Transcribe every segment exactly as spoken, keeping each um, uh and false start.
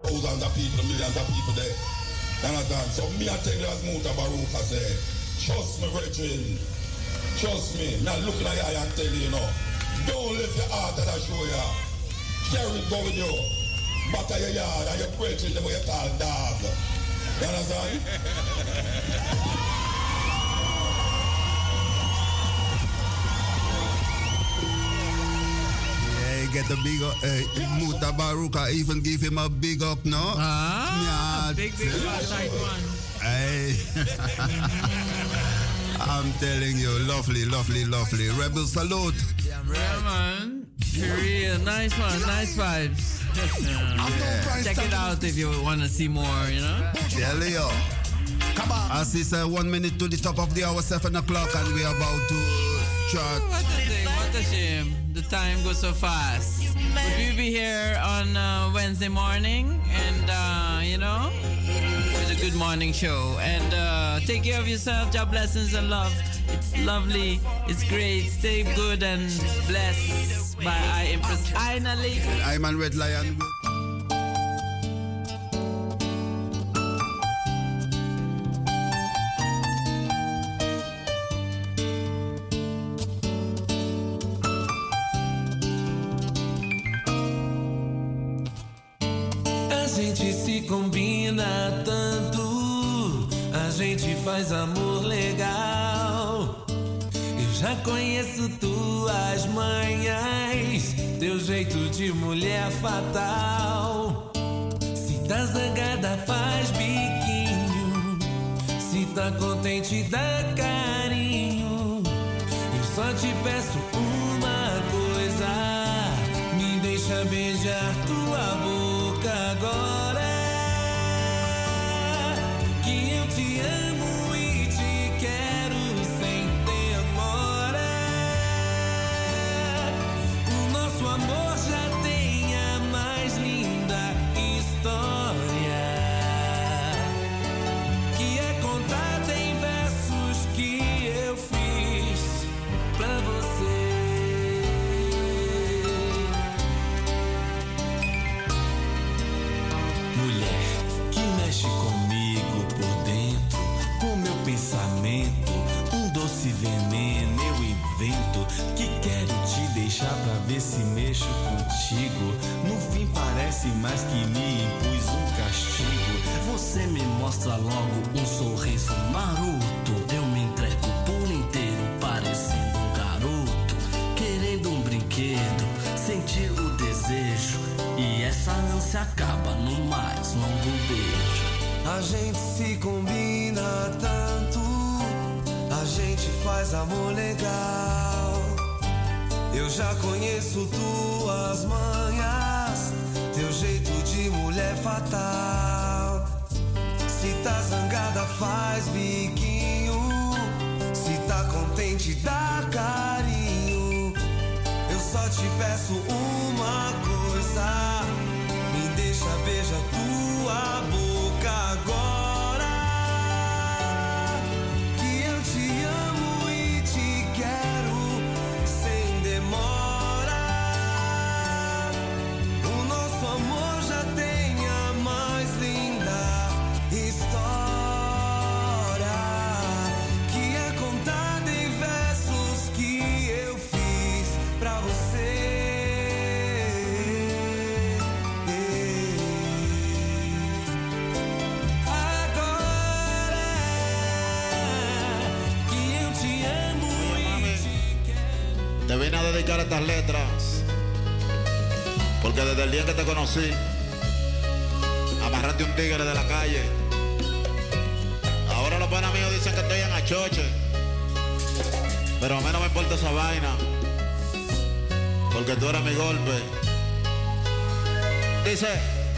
thousands of people, millions of people there. You understand? So me I tell you as Muta Baruch I say, trust me, brethren. Trust me. Not looking at you and tell you, you know. Don't leave your heart that I show you. Carry it go with you. Back of your yard and your brethren, the way you call dog. You understand? Get a big up. Uh, Muta Baruka even give him a big up, no? Ah, yeah, big, big tight one. Hey. I'm telling you, lovely, lovely, lovely. Rebel salute. Yeah, man. For real, nice one, nice vibes. Yeah. Check it out if you want to see more, you know? Tell you. Come on. As it's uh, one minute to the top of the hour, seven o'clock, and we're about to chart. What a thing, what a shame. The time goes so fast. But we'll be here on uh, Wednesday morning, and uh, you know, with a good morning show. And uh, take care of yourself. Job blessings and love. It's lovely. It's great. Stay good and blessed by I Empress Aina Lee. I'm on Red Lion. A gente se combina tanto, a gente faz amor legal. Eu já conheço tuas manhas, teu jeito de mulher fatal. Se tá zangada faz biquinho, se tá contente dá carinho. Eu só te peço uma coisa, me deixa beijar tua boca agora. Que eu te amo e te quero sem demora. O nosso amor já tem a mais linda história, que é contada em versos que eu fiz pra você. Pensamento, um doce veneno eu invento, que quero te deixar pra ver se mexo contigo. No fim parece mais que me impus um castigo. Você me mostra logo um sorriso maroto, eu me entrego por inteiro parecendo um garoto, querendo um brinquedo, sentir o desejo, e essa ânsia acaba no mais longo beijo. A gente se combina tanto, a gente faz amor legal. Eu já conheço tuas manhas, teu jeito de mulher fatal. Se tá zangada faz biquinho, se tá contente dá carinho. Eu só te peço uma coisa, me deixa beijar tua boca agora. Que eu te amo e te quero sem demora. O nosso amor já tem a mais linda história, que é contada em versos que eu fiz pra você. Te vine a dedicar estas letras porque desde el día que te conocí amarraste un tigre de la calle. Ahora los panas míos dicen que estoy en achoche, pero a mí no me importa esa vaina porque tú eres mi golpe. Dice: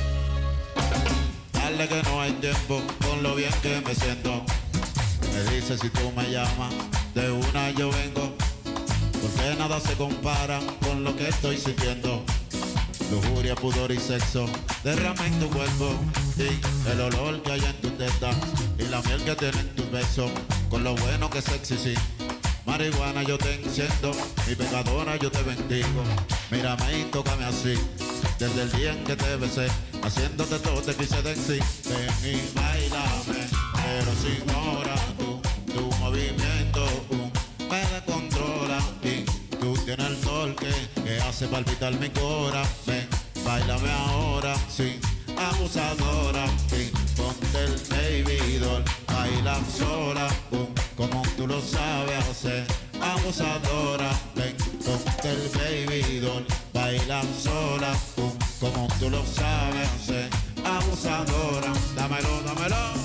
dale que no hay tiempo con lo bien que me siento. Me dice si tú me llamas, de una yo vengo. Porque nada se compara con lo que estoy sintiendo. Lujuria, pudor y sexo derrama en tu cuerpo, y el olor que hay en tu teta y la miel que tiene en tus besos. Con lo bueno que es sexy, sí. Marihuana yo te enciendo, mi pecadora yo te bendigo. Mírame y tócame así, desde el día en que te besé. haciéndote todo te quise decir, ven y bailame, pero sin hora, tú, tu movimiento uh, me descontrola y tú tienes el sol que, que hace palpitar mi corazón, ven, bailame ahora, sí, abusadora, sí, ponte el baby doll, baila sola, uh, como tú lo sabes hacer, abusadora, ven, ponte el baby doll, baila sola, uh, como tú lo sabes hacer, abusadora, dámelo, dámelo.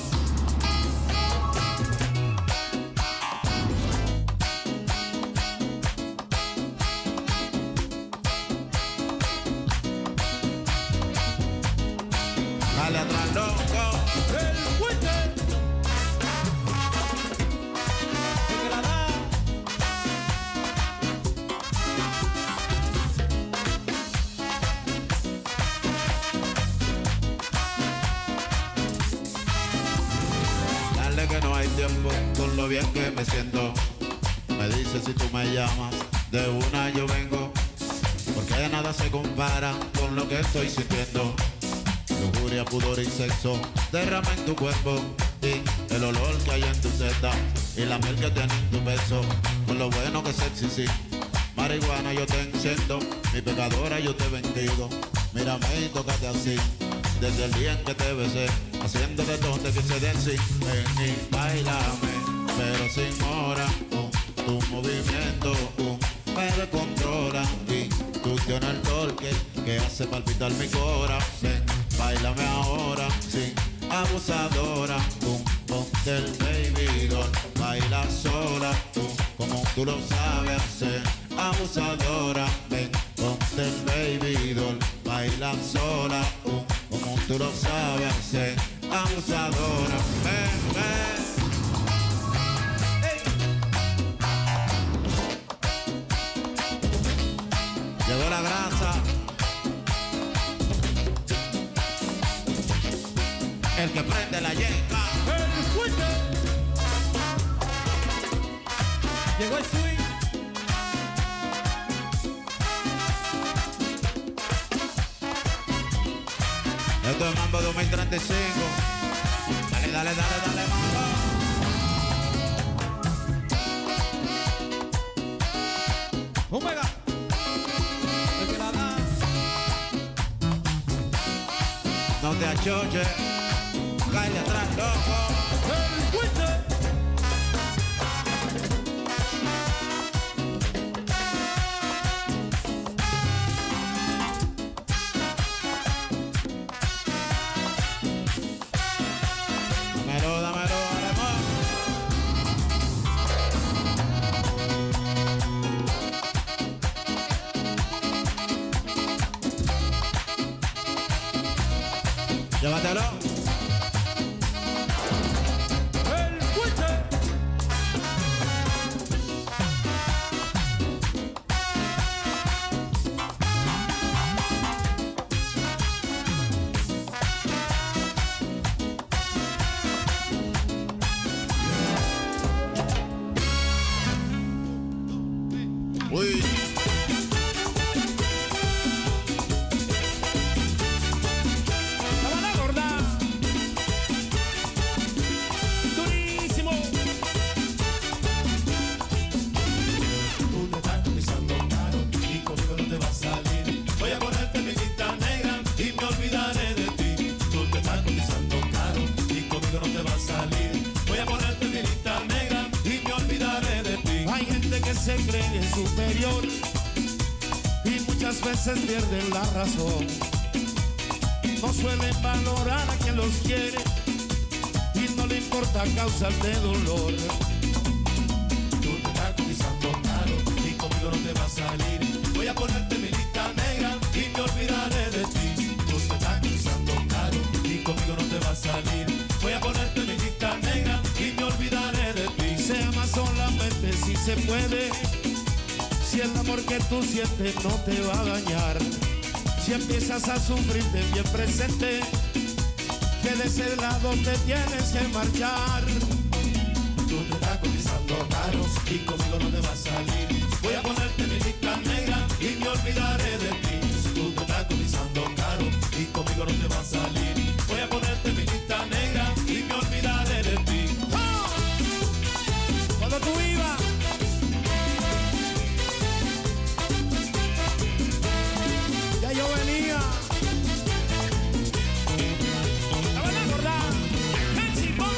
Dale atrás, loco, el fuerte, el que la da. Dale que no hay tiempo, con lo bien que me siento. Me dice si tú me llamas, de una yo vengo, porque nada se compara con lo que estoy sintiendo. Lujuria, pudor y sexo derrama en tu cuerpo y el olor que hay en tu seta y la miel que tiene en tu beso, con lo bueno que es sexy, sí. Marihuana yo te enciendo, mi pecadora yo te he vendido. Mírame y tócate así, desde el día en que te besé, haciéndote todo te quise decir, ven y bailame, pero sin hora, uh, tu movimiento uh, me descontrola y tú tienes el torque que hace palpitar mi corazón. Bailame ahora, sí, abusadora, tú, ponte el baby doll, baila sola, tú, como tú lo sabes hacer, abusadora, ven, ponte el baby doll, baila sola, tú, como tú lo sabes hacer, abusadora, ven, ven. Llegó la grasa. El que prende la yeca. El fuerte. Llegó el swing. Esto es Mambo dos mil treinta y cinco. Dale, dale, dale, dale, Mambo. Un mega. El que la da. No te achoches. Cállate atrás, loco. El fuerte. Dámelo, dámelo, haremos. Llévatelo. Uy. La gorda. Durísimo. Tú te estás pisando caro y conmigo no te va a salir. Voy a ponerte mi lista negra y me olvidaré de ti. Tú te estás pisando caro y conmigo no te va a salir. Voy a ponerte mi lista negra y me olvidaré de ti. Hay gente que se cree superior y muchas veces pierden la razón. No suelen valorar a quien los quiere y no le importa causas de dolor. Tú te estás cotizando caro y conmigo no te va a salir. Voy a ponerte mi lista negra y me olvidaré de ti. Tú te estás cotizando caro y conmigo no te va a salir. Voy a ponerte mi lista negra y me olvidaré de ti. Se ama solamente si se puede. Si el amor que tú sientes no te va a dañar. Si empiezas a sufrir de bien presente, que de ese lado te tienes que marchar. Tú te estás cotizando caro y conmigo no te va a salir. Voy a ponerte mi lista negra y me olvidaré de ti. Tú te estás cotizando caro y conmigo no te va a salir. Voy a ponerte mi lista negra y me olvidaré de ti. ¡Oh! Cuando tú ibas, ya yo venía. ¿La van a acordar? ¡Ven, Simón!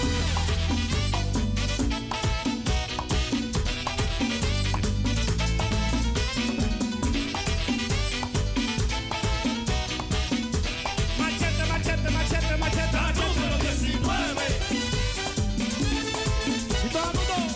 Machete, machete, machete, machete. La número diecinueve. Y todo el mundo.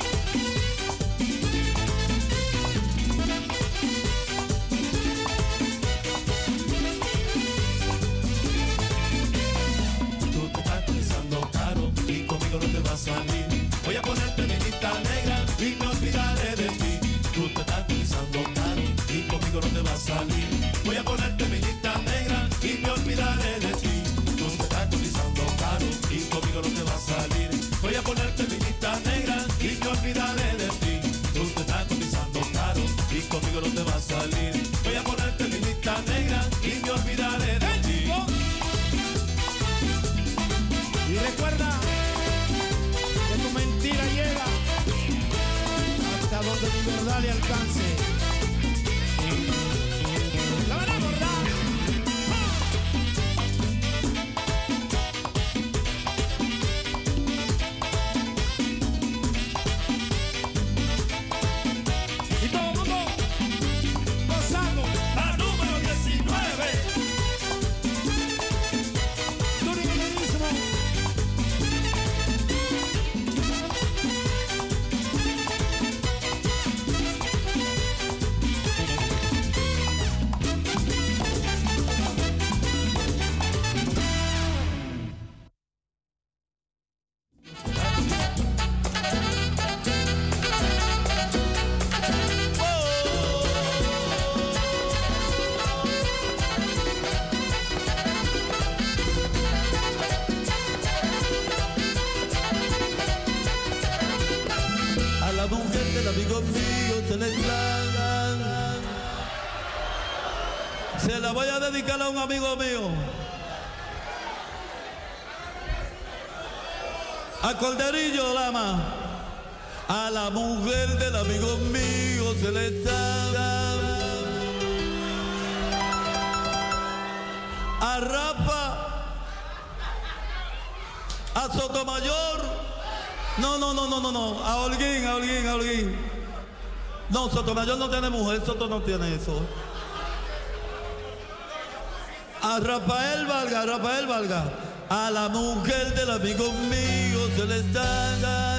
Tú te estás cotizando caro y conmigo no te va a salir. Voy a ponerte mi lista negra y me olvidaré de ti. Tú te estás cotizando caro y conmigo no te va a salir. Voy a ponerte mi lista negra y me olvidaré de ti. Tú te estás cotizando caro y conmigo no te va a salir. Voy a ponerte mi lista negra y me olvidaré de ti. Tú te estás cotizando caro y conmigo no te va a salir. Voy a ponerte mi lista negra y me olvidaré de ti. Y recuerda que tu mentira llega hasta donde mi verdad le alcance. La van a acordar. Y todo el mundo gozando. La número diecinueve. Durísimo. A la mujer del amigo mío se le tragan. Se la voy a dedicar a un amigo mío. A Corderillo Lama. A la mujer del amigo mío se le tragan. A Rafa. A Sotomayor. No, no, no, no, no, no. A Holguín, a Holguín, a Holguín. No, Sotomayor no tiene mujer, Soto no tiene eso. A Rafael Valga, a Rafael Valga. A la mujer del amigo mío se le está.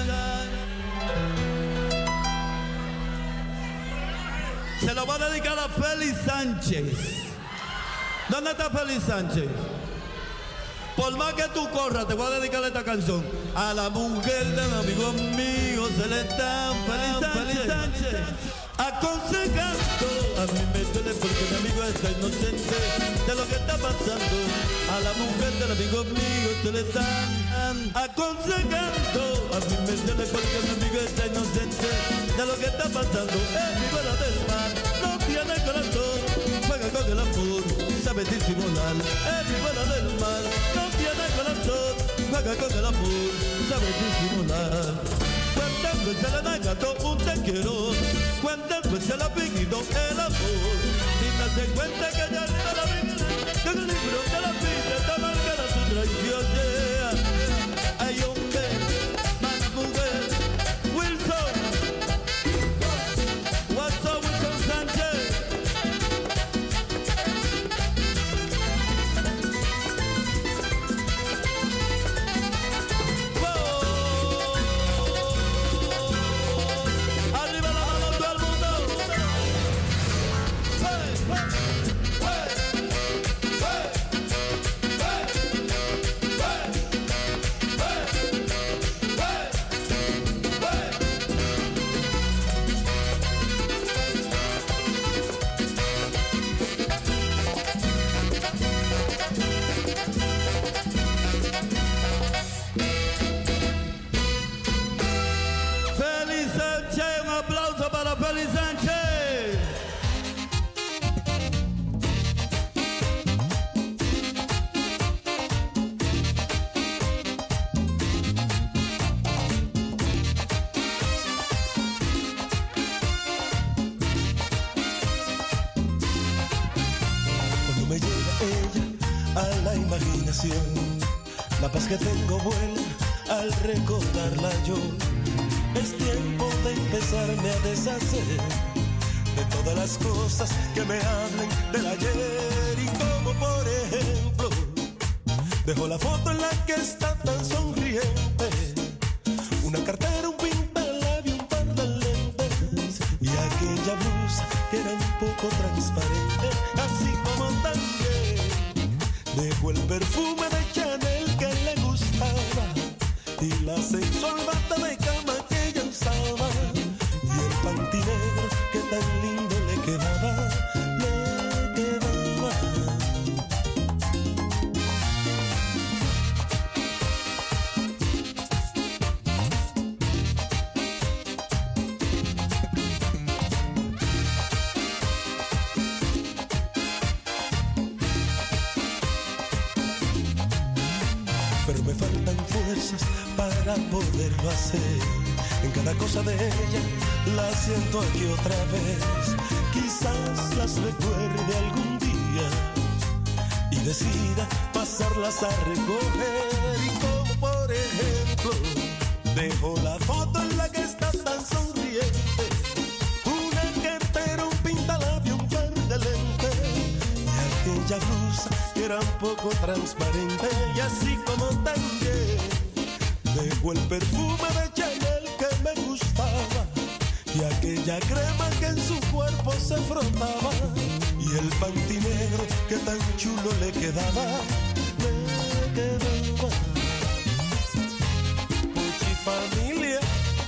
Se lo va a dedicar a Félix Sánchez. ¿Dónde está Félix Sánchez? Por más que tú corras, te voy a dedicar esta canción. A la mujer del amigo mío se le está Félix Sánchez, Sánchez. Aconsejando, a mí me duele porque mi amigo está inocente de lo que está pasando. A la mujer del amigo mío se le están aconsejando. A mí me duele porque mi amigo está inocente de lo que está pasando. Es mi bola del mar, no tiene corazón, juega con el amor, sabe disimular. Es mi bola del mar, no tiene corazón, juega con el amor, sabe disimular. ¿Cuántas veces le han ganado un te quiero? ¿Cuántas veces le ha pedido el amor? Sin darse cuenta que ya arriba la vida, que en el libro de la vida está marcada su traición. Yeah. Ay, hombre, más mujer, Wilson. What's up, Wilson Sánchez? imaginación. La paz que tengo vuela al recordarla yo. Es tiempo de empezarme a deshacer de todas las cosas que me hablen del ayer. Y como por ejemplo, dejo la foto en la que está tan sonriente, una cartera, un pintalabio, un par de lentes y aquella blusa que era un poco transparente. Así como también dejo el perfume de Chanel que le gustaba y la sensual bata de cama que ella usaba y el panty negro que tan lindo le quedaba, le quedaba. Pero me faltan fuerzas para poderlo hacer. En cada cosa de ella la siento aquí otra vez. Quizás las recuerde algún día y decida pasarlas a recoger. Y como por ejemplo, dejo la foto en la que está tan sonriente, una cartera, un pintalabio, un par de lentes y aquella blusa que era un poco transparente. Y así como también dejo el perfume de Chanel que me gustaba y aquella crema que en su cuerpo se frotaba y el panty negro que tan chulo le quedaba, le quedaba. Puchi familia.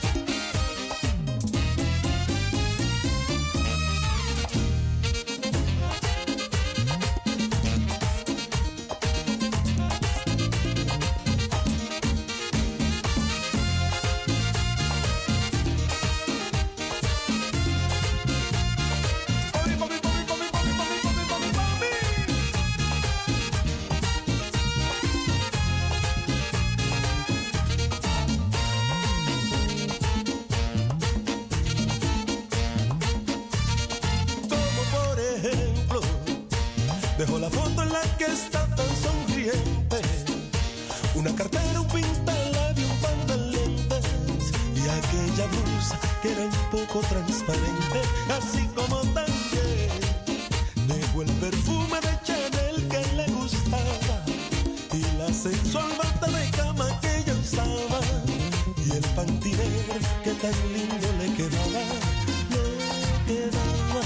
Dejo la foto en la que está tan sonriente, una cartera, un pintalabio, un par de lentes y aquella blusa que era un poco transparente. Así como también dejo el perfume de Chanel que le gustaba y la sensual bata de cama que ella usaba y el panty negro que tan lindo le quedaba, le quedaba.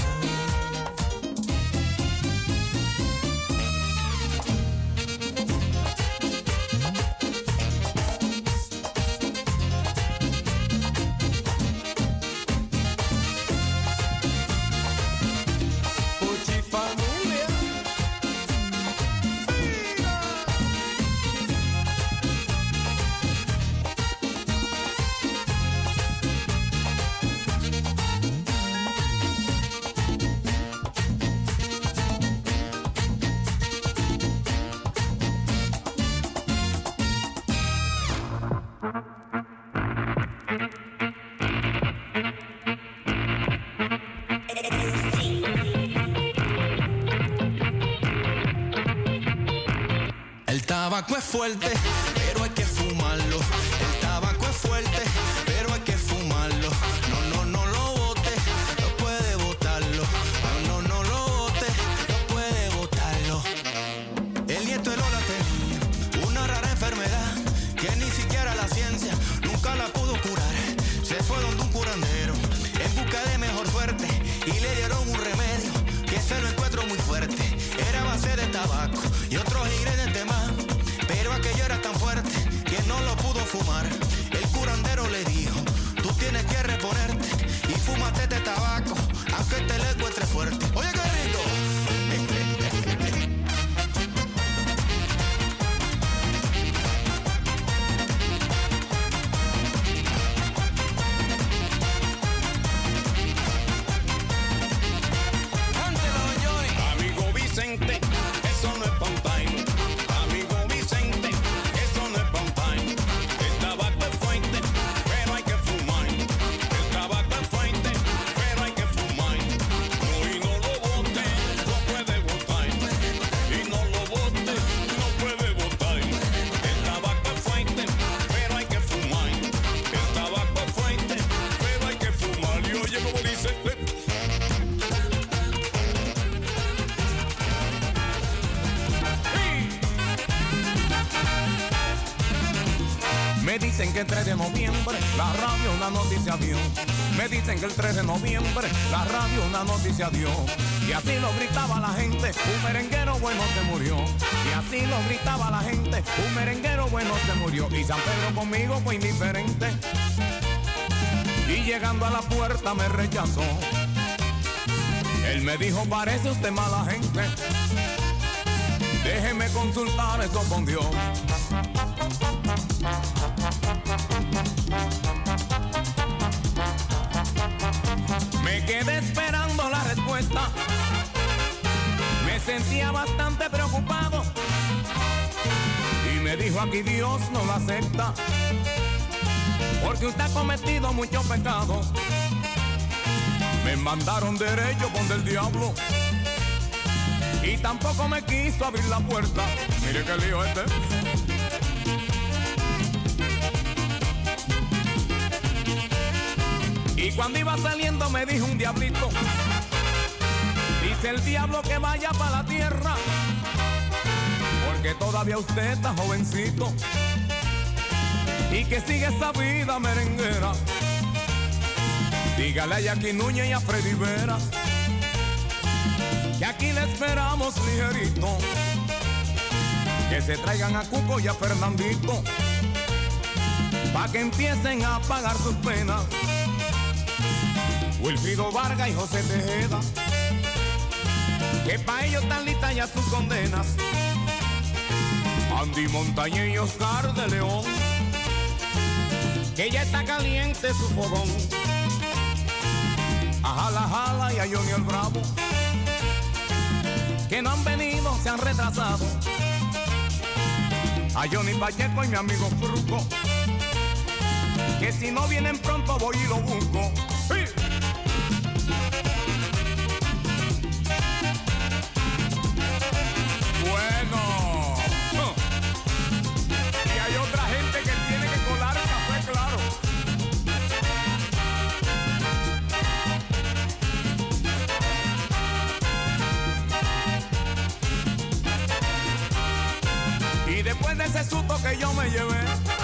El tabaco es fuerte, pero hay que fumarlo. El tabaco es fuerte, pero hay que fumarlo. No, no, no lo bote, no puede botarlo. No, no, no lo bote, no puede botarlo. El nieto de Lola tenía una rara enfermedad que ni siquiera la ciencia nunca la pudo curar. Se fue donde un curandero en busca de mejor suerte y le dieron un remedio que se lo encuentro muy fuerte. Era a base de tabaco y otros ingredientes más, pero aquello era tan fuerte que no lo pudo fumar. El curandero le dijo, tú tienes que reponerte y fúmate este tabaco, aunque te lo encuentre fuerte. Oye, qué rico. Amigo Vicente, eso no es pampaino. Amigo Vicente, eso no es pampaino. El tabaco es fuerte, pero hay que fumar. El tabaco es fuerte, pero hay que fumar. No, y no lo Me dicen que el tres de noviembre la radio una noticia dio. Me dicen que el tres de noviembre la radio una noticia dio. Y así lo gritaba la gente, un merenguero bueno se murió. Y así lo gritaba la gente, un merenguero bueno se murió. Y San Pedro conmigo fue indiferente. Y llegando a la puerta me rechazó. Él me dijo, parece usted mala gente. Déjeme consultar eso con Dios. Me quedé esperando la respuesta. Me sentía bastante preocupado. Y me dijo, aquí Dios no lo acepta, porque usted ha cometido muchos pecados. Me mandaron derecho con el diablo. Y tampoco me quiso abrir la puerta. Mire qué lío este. Y cuando iba saliendo me dijo un diablito, dice el diablo que vaya para la tierra, porque todavía usted está jovencito y que sigue esa vida merenguera. Dígale a Jackie Núñez y a Freddy Vera que aquí le esperamos ligerito, que se traigan a Cuco y a Fernandito pa' que empiecen a pagar sus penas. Wilfrido Vargas y José Tejeda, que pa' ellos están listas ya sus condenas. Andy Montañez y Oscar de León, que ya está caliente su fogón. A Jala Jala y a Johnny el Bravo, que no han venido, se han retrasado. A Johnny Pacheco y mi amigo Fruco, que si no vienen pronto voy y lo busco. ¡Sí! Bueno, y hay otra gente que tiene que colar el café, claro. Y después de ese susto que yo me llevé,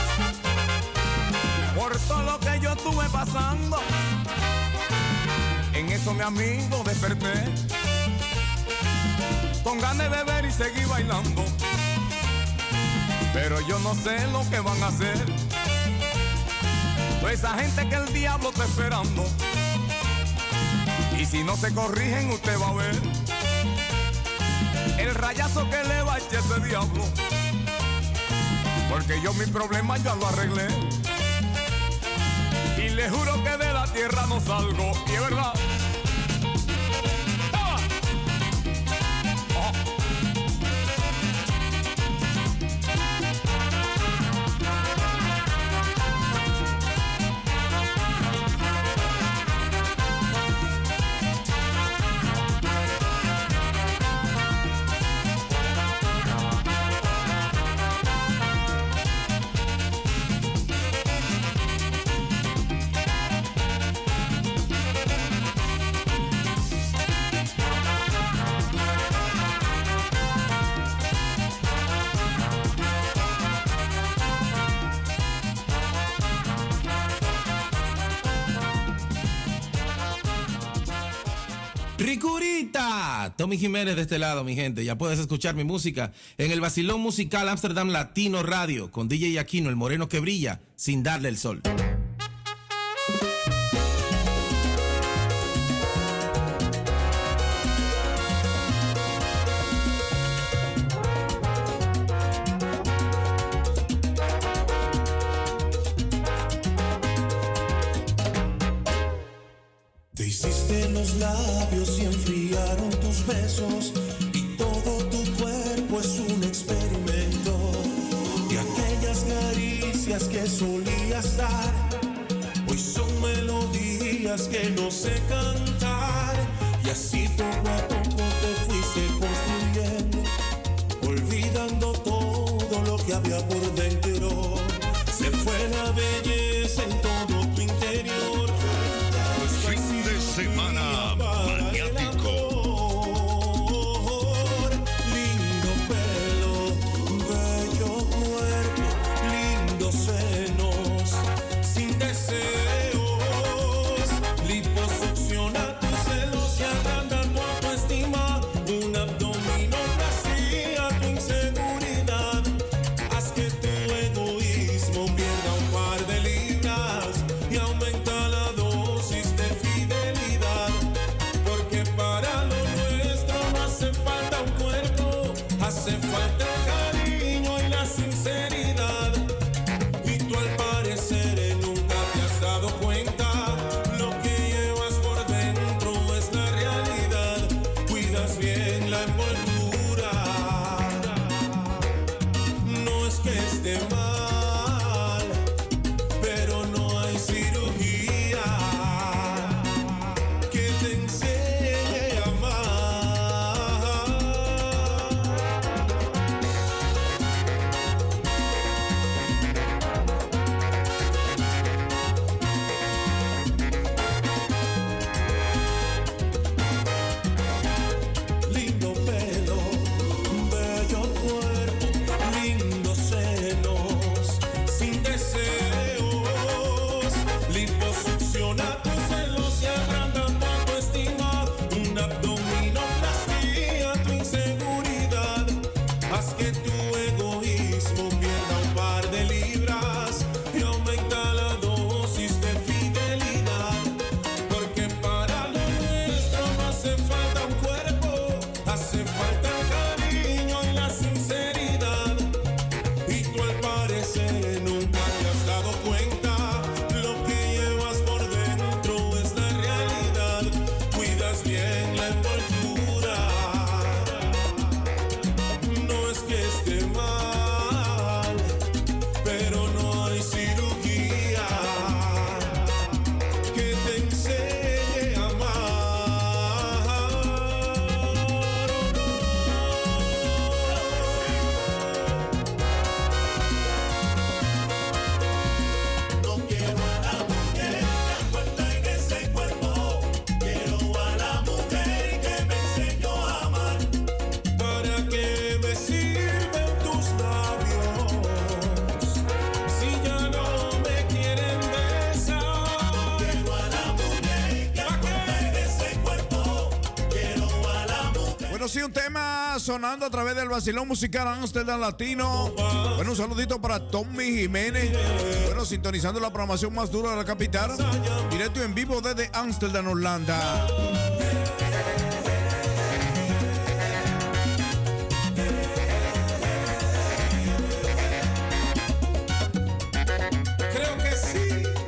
por todo lo que yo estuve pasando, en eso mi amigo desperté, con ganas de beber y seguir bailando. Pero yo no sé lo que van a hacer pues esa gente que el diablo está esperando. Y si no se corrigen usted va a ver el rayazo que le va a echar ese diablo, porque yo mi problema ya lo arreglé y le juro que de la tierra no salgo. Y es verdad. Ricurita, Tommy Jiménez de este lado, mi gente. Ya puedes escuchar mi música en el Vacilón Musical Amsterdam Latino Radio con D J Aquino, el moreno que brilla sin darle el sol. Te hiciste los labios y enfriaron tus besos, y todo tu cuerpo es un experimento. Y aquellas caricias que solías dar, hoy son melodías que no sé cantar. Y así poco a poco te fuiste construyendo, olvidando todo lo que había por dentro. Se fue la belleza en todo tu interior. Fin de semana maniático. Lindo pelo, bello cuerpo, lindo seno. esté mal, pero no hay cirugía que te enseñe a amar. Lindo pelo, bello cuerpo, lindos senos, sin deseos, liposucciona tus celos y agranda tu autoestima, un abdominoplastia, tu inseguridad, haz que tu egoísmo pierda un par de libras y aumenta la dosis de fidelidad, porque para lo nuestro no hace falta un cuerpo, hace falta el cariño y la sinceridad. Y tú al parecer nunca te has dado cuenta, lo que llevas por dentro es la realidad. Cuidas bien la envoltura, no es que esté mal, pero no hay cirugía que te enseñe a amar. No quiero a la mujer envuelta en ese cuerpo, quiero a la mujer que me enseñó a amar. ¿Para qué me sirven tus labios si ya no me quieren besar? Quiero a la mujer que envuelta en ese cuerpo, quiero a la mujer. Bueno, sí, un tema sonando a través del vacilón musical Amsterdam Latino. Bueno, un saludito para Tommy Jiménez. Bueno, sintonizando la programación más dura de la capital. Directo en vivo desde Amsterdam, Holanda. Creo que sí.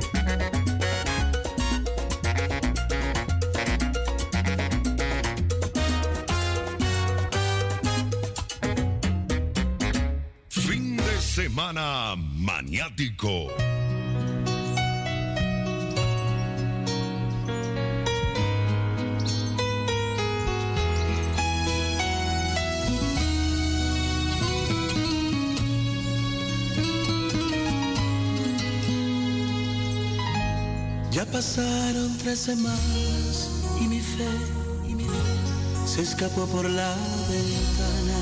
Fin de semana maniático. Ya pasaron tres semanas y mi fe, y mi fe se escapó por la ventana.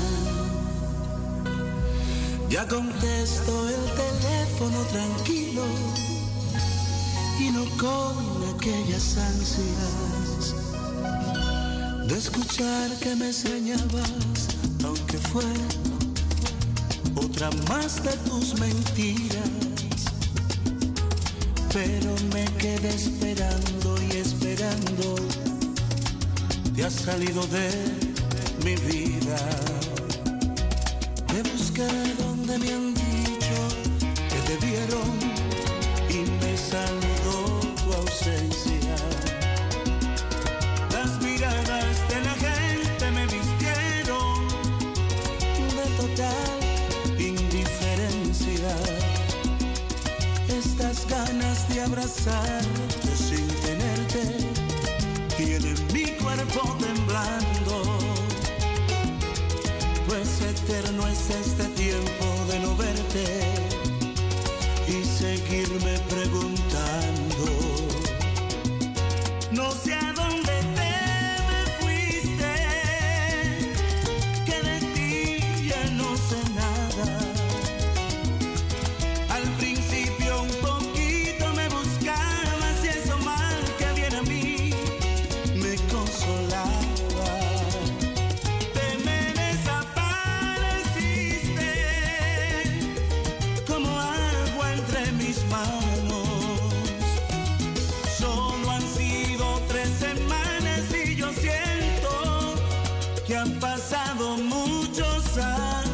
Ya contesto el teléfono tranquilo y no con aquellas ansias de escuchar que me extrañabas, aunque fue otra más de tus mentiras. Pero me quedé esperando y esperando, te has salido de mi vida. Te busqué donde me han dicho que te vieron y me saludó tu ausencia. Las miradas de la gente me vistieron de total indiferencia. Estas ganas de abrazarte sin tenerte tienen mi cuerpo temblando. Pues eterno es este tiempo de no verte y seguirme preguntando. No sé a dónde te me fuiste, que de ti ya no sé nada. Al principio un poquito me buscabas y eso mal que viene a mí me consolaba. Te me desapareciste como agua entre mis manos. Solo han sido tres semanas y yo siento que han pasado muchos años.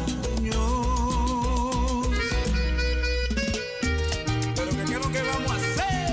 Pero que qué es lo que vamos a hacer.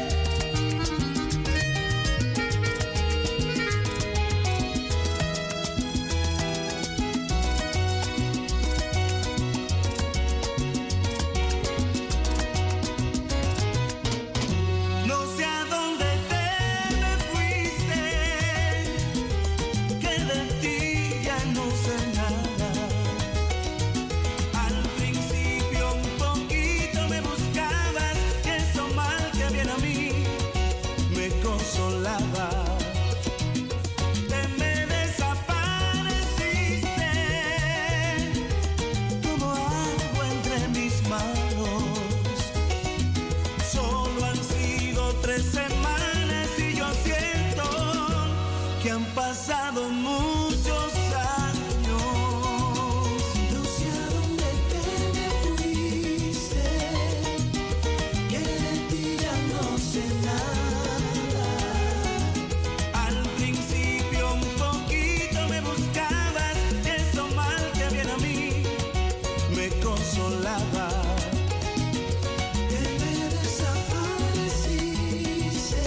tres semanas y yo siento que han pasado muchos años. No sé a dónde te me fuiste, que de ti ya no sé nada. Al principio un poquito me buscabas, eso mal que viene a mí me consolaba. Que me desapareciste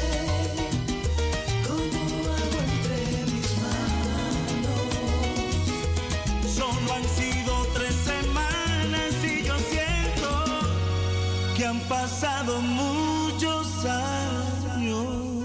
como agua entre mis manos. Solo han sido tres semanas y yo siento que han pasado muchos años.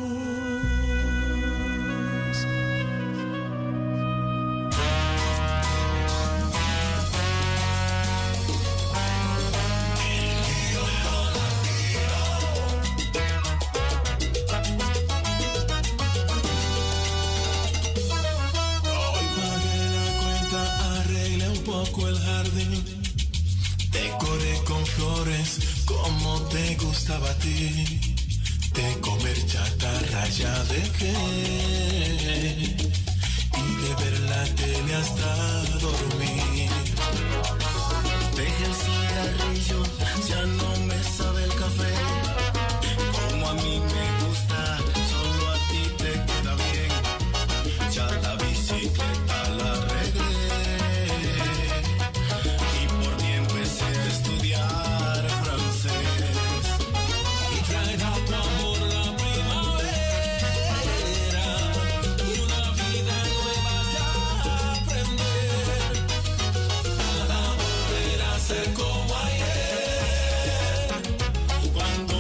Hoy pagué la cuenta, arreglé un poco el jardín, decoré con flores como te gustaba a ti, de comer chatarra ya dejé, y de ver la tele hasta dormir. Dejé el cigarrillo, ya no me sabe el café, como a mí me gusta, solo a ti te queda bien. Ya la bicicleta la arreglé y por ti empecé a estudiar francés. Y traerá tu amor la primavera y una vida nueva ya aprender. Nada volverá a ser como ayer, cuando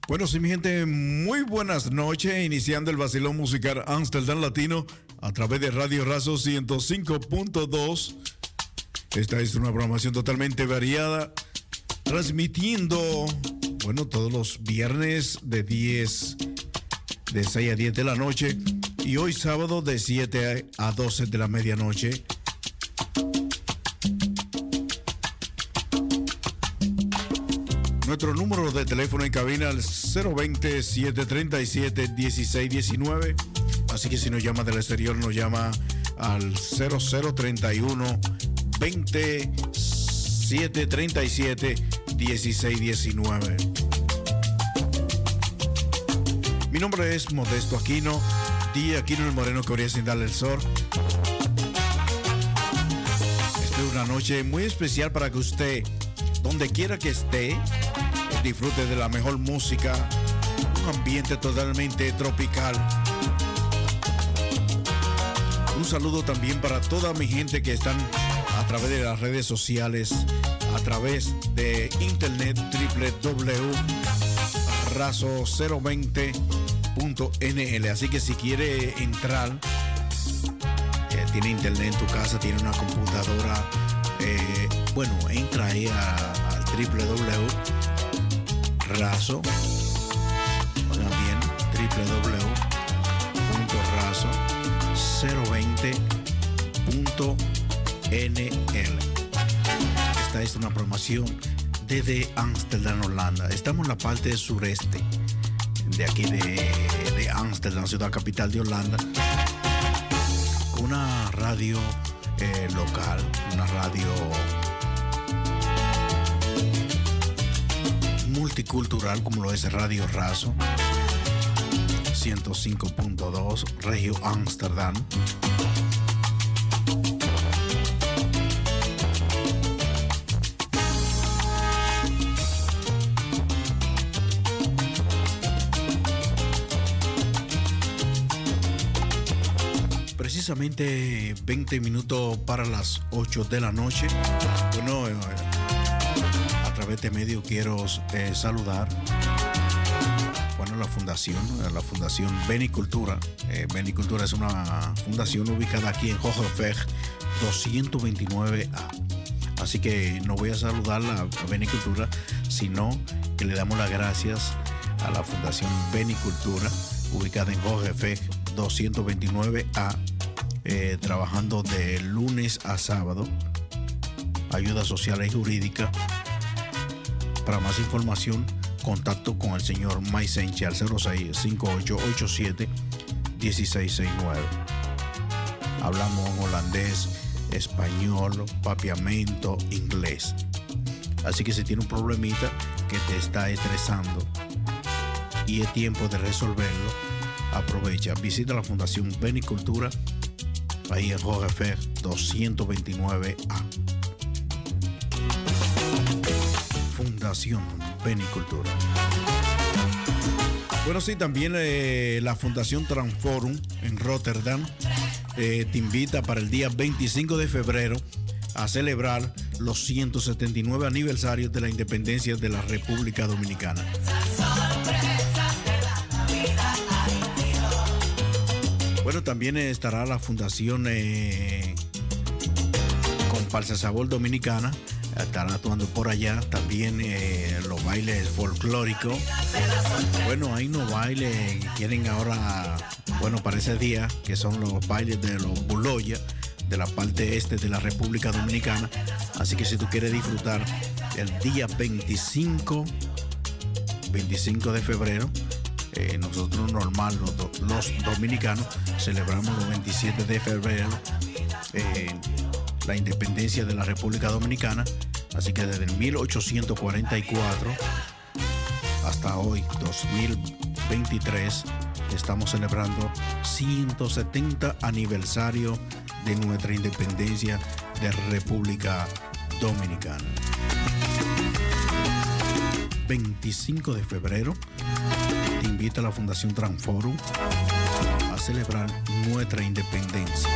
Bueno, sí, mi gente, muy buenas noches. Iniciando el vacilón musical Amsterdam Latino a través de Radio Razo ciento cinco punto dos. Esta es una programación totalmente variada, transmitiendo, bueno, todos los viernes de diez, de seis a diez de la noche y hoy sábado de siete a doce de la medianoche. Nuestro número de teléfono en cabina es cero veinte, siete treinta y siete, dieciséis diecinueve. Así que si nos llama del exterior, nos llama al cero cero treinta y uno, veinte, siete treinta y siete, dieciséis diecinueve. Mi nombre es Modesto Aquino, día Aquino el Moreno que orilla sin darle el sol. Esta es una noche muy especial para que usted, donde quiera que esté, disfrute de la mejor música, un ambiente totalmente tropical. Un saludo también para toda mi gente que están a través de las redes sociales, a través de internet doble u doble u doble u punto razo cero veinte punto n l. Así que si quiere entrar, eh, tiene internet en tu casa, tiene una computadora, eh, bueno, entra ahí a, al doble u doble u doble u punto razo, oigan bien, doble u doble u doble u punto razo cero veinte punto n l. Esta es una programación desde Amsterdam, Holanda. Estamos en la parte sureste de aquí de, de Amsterdam, ciudad capital de Holanda. Una radio eh, local, una radio multicultural como lo es Radio Razo ciento cinco punto dos, Regio Amsterdam. Precisamente veinte minutos para las ocho de la noche. Bueno, eh, a través de medio quiero eh, saludar, bueno, la fundación, la fundación Benicultura. Eh, Benicultura es una fundación ubicada aquí en Hoogeveg doscientos veintinueve A. Así que no voy a saludar a, a Benicultura, sino que le damos las gracias a la fundación Benicultura, ubicada en Hoogeveg doscientos veintinueve A, eh, trabajando de lunes a sábado, ayuda social y jurídica. Para más información, contacto con el señor Maisenche al cero seis, cinco ocho ocho siete, uno seis seis nueve. Hablamos en holandés, español, papiamento, inglés. Así que si tiene un problemita que te está estresando y es tiempo de resolverlo, aprovecha, visita la Fundación Benicultura ahí en Hoogeveg doscientos veintinueve A. Fundación Benicultura. Bueno, sí, también eh, la Fundación Transforum en Rotterdam eh, te invita para el día veinticinco de febrero a celebrar los ciento setenta y nueve aniversarios de la independencia de la República Dominicana. Bueno, también estará la Fundación eh, Comparsa Sabor Dominicana, estará actuando por allá. También eh, los bailes folclóricos. Bueno, hay unos bailes que quieren ahora, bueno, para ese día, que son los bailes de los Buloya, de la parte este de la República Dominicana. Así que si tú quieres disfrutar el día veinticinco de febrero, Eh, nosotros normal, los, do, los dominicanos, celebramos los veintisiete de febrero eh, la independencia de la República Dominicana. Así que desde el mil ochocientos cuarenta y cuatro hasta hoy, dos mil veintitrés, estamos celebrando ciento setenta aniversario de nuestra independencia de República Dominicana. veinticinco de febrero te invita a la Fundación Transforum a celebrar nuestra independencia.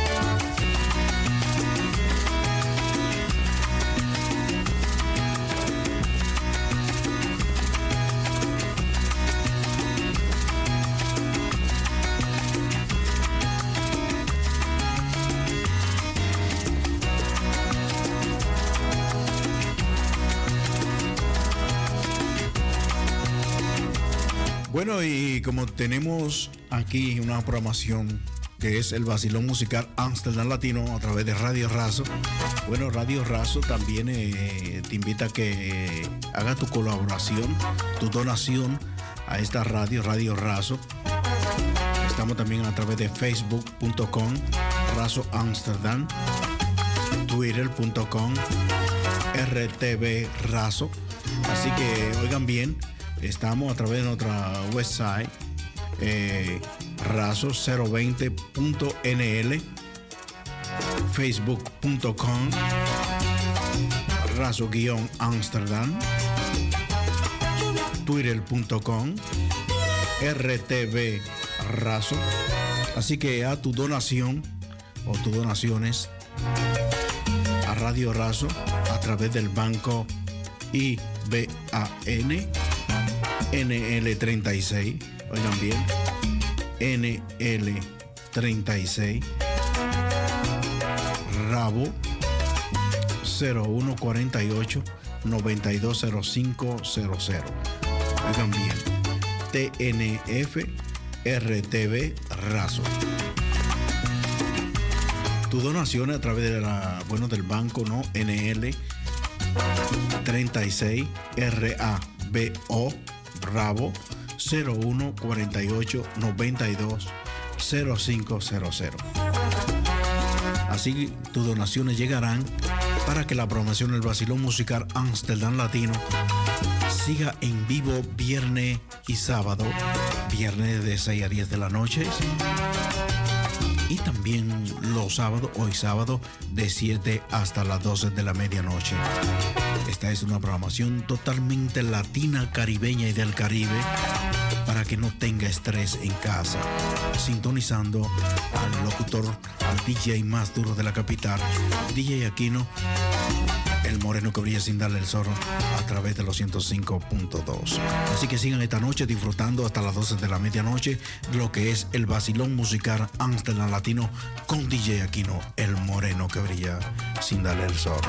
Bueno, y como tenemos aquí una programación que es el vacilón musical Amsterdam Latino a través de Radio Razo. Bueno, Radio Razo también eh, te invita a que haga tu colaboración, tu donación a esta radio, Radio Razo. Estamos también a través de facebook punto com, Razo Amsterdam, twitter punto com, R T V Razo. Así que oigan bien, estamos a través de nuestra website, eh, razo cero veinte punto N L, facebook punto com, Razo-Amsterdam, twitter punto com, R T V Razo. Así que a tu donación o tus donaciones a Radio Razo a través del banco I B A N N L treinta y seis, oigan bien, N L treinta y seis, Rabo cero uno cuarenta y ocho noventa y dos cero cinco cero cero. Oigan bien, T N F R T V Razo. Tu donación a través de la, bueno, del banco, ¿no? N L treinta y seis R A B O Bravo cero uno cuarenta y ocho noventa y dos cero cinco cero cero. Así tus donaciones llegarán para que la programación del vacilón musical Amsterdam Latino siga en vivo viernes y sábado, viernes de seis a diez de la noche, y también los sábados, hoy sábado, de siete hasta las doce de la medianoche. Esta es una programación totalmente latina, caribeña y del Caribe, para que no tenga estrés en casa. Sintonizando al locutor, al D J más duro de la capital, D J Aquino, el moreno que brilla sin darle el zorro, a través de los ciento cinco punto dos. Así que sigan esta noche disfrutando hasta las doce de la medianoche de lo que es el vacilón musical Amsterdam Latino con D J Aquino, el moreno que brilla sin darle el zorro.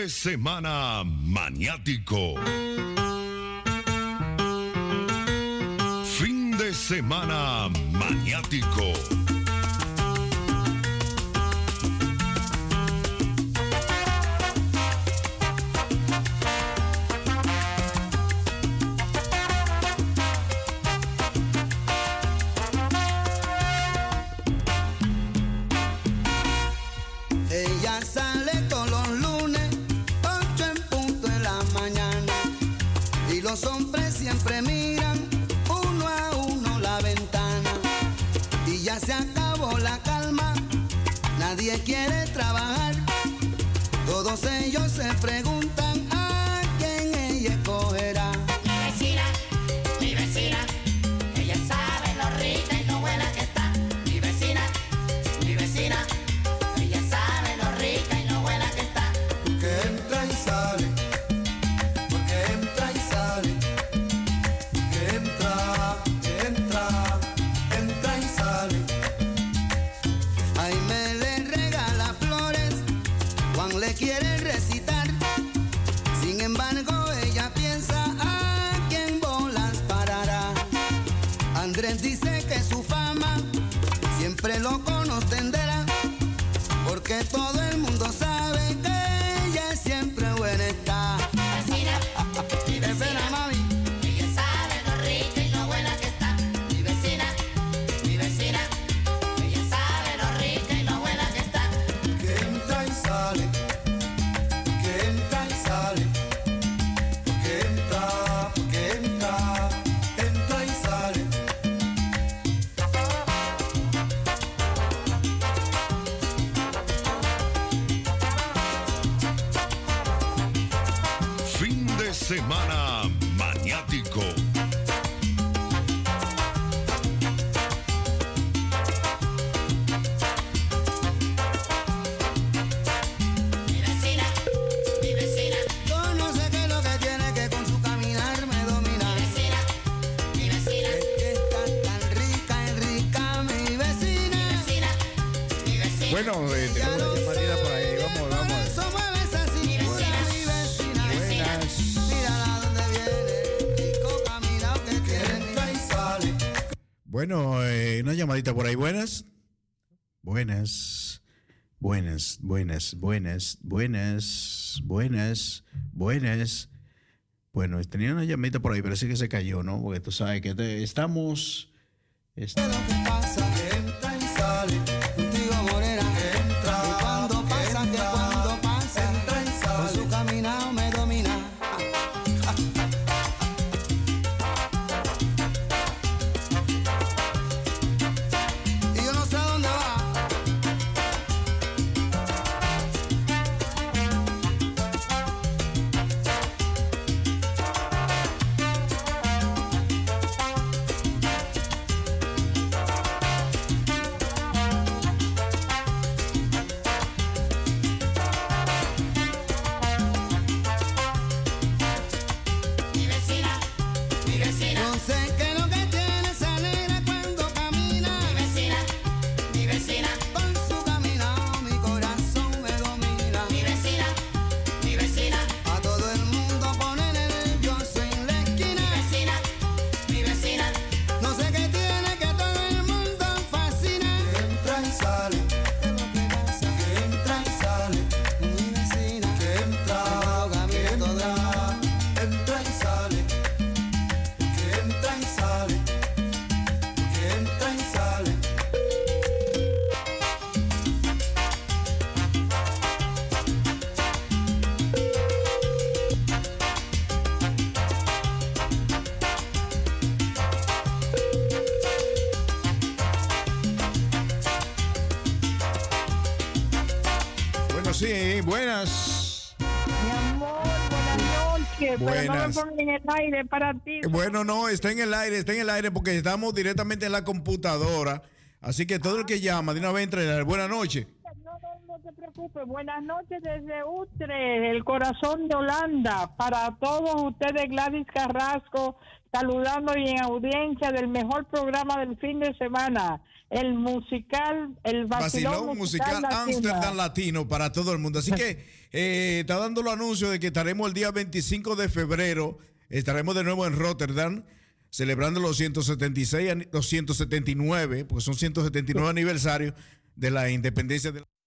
de semana maniático. Fin de semana maniático. Ella sale todos los lunes, ocho en punto en la mañana. Y los hombres siempre miran uno a uno la ventana. Y ya se acabó la calma, nadie quiere trabajar. Todos ellos se preguntan a quién ella escogerá. Mi vecina, mi vecina, ella sabe lo rica y lo buena que está. Mi vecina, mi vecina, ella sabe lo rica y lo buena que está. Que entra y sale, porque entra y sale, que entra, que entra, entra y sale. Ay, me le regala flores, Juan le quiere recitar. Sin embargo, ella piensa a quién bolas parará. Andrés dice que su fama siempre lo conocerá, porque todo el mundo sabe que ella siempre buena está. Vecina, mi Espera, vecina, mami. ella sabe lo rica y lo buena que está. Mi vecina, mi vecina, ella sabe lo rica y lo buena que está. Que entra y sale, que entra y sale, que entra, que entra, entra y sale. Fin de semana maniático. Mi vecina, mi vecina, Yo no sé qué es lo que tiene, que con su caminar me domina. mi vecina, mi vecina, Es que está tan rica y rica mi vecina. vecina, mi vecina. Bueno, eh, tenemos una llamadita por ahí. Vamos, vamos. Eso mueves así, Mi vecina, mi vecina. mi vecina. Mírala donde viene, rico caminado que tiene. Entra y sale. Bueno, eh, una llamadita por ahí. Buenas. Buenas. Buenas, buenas, buenas, buenas, buenas, buenas. Bueno, tenía una llamadita por ahí, pero sí que se cayó, ¿no? Porque tú sabes que te- estamos... est- Lo que pasa que entra y sale, contigo morena. Que entra, y cuando pasa, que cuando pasa, entra y sale. Con su caminado me domina. Y yo no sé a dónde va. Mi vecina, mi vecina, No sé qué es lo que tiene esa negra cuando camina. mi vecina, mi vecina, Con su caminado mi corazón me domina. mi vecina, mi vecina, A todo el mundo pone nervioso en la mi esquina. vecina, mi vecina, No sé qué tiene que todo el mundo fascina. Que entra y sale, ¿qué es lo que pasa? Que entra y sale, mi vecina. Que entra, que entra, entra y sale. Que entra y sale, que entra y sale. Bueno, sí, buenas. Mi amor, buenas noches. Pero no me Buenas. pongan en el aire para ti. Bueno, no, está en el aire, está en el aire porque estamos directamente en la computadora. Así que todo el que llama, de una vez entra en el aire. Buenas noches. No, no, no, se preocupe. Buenas noches desde Utrecht, el corazón de Holanda. Para todos ustedes, Gladys Carrasco, saludando y en audiencia del mejor programa del fin de semana, el musical, el Vacilón, Vacilón Musical Amsterdam Latino para todo el mundo. Así que eh, está dando los anuncios de que estaremos el día veinticinco de febrero, estaremos de nuevo en Rotterdam, celebrando los ciento setenta y seis, los ciento setenta y nueve, porque son ciento setenta y nueve aniversarios de la independencia de la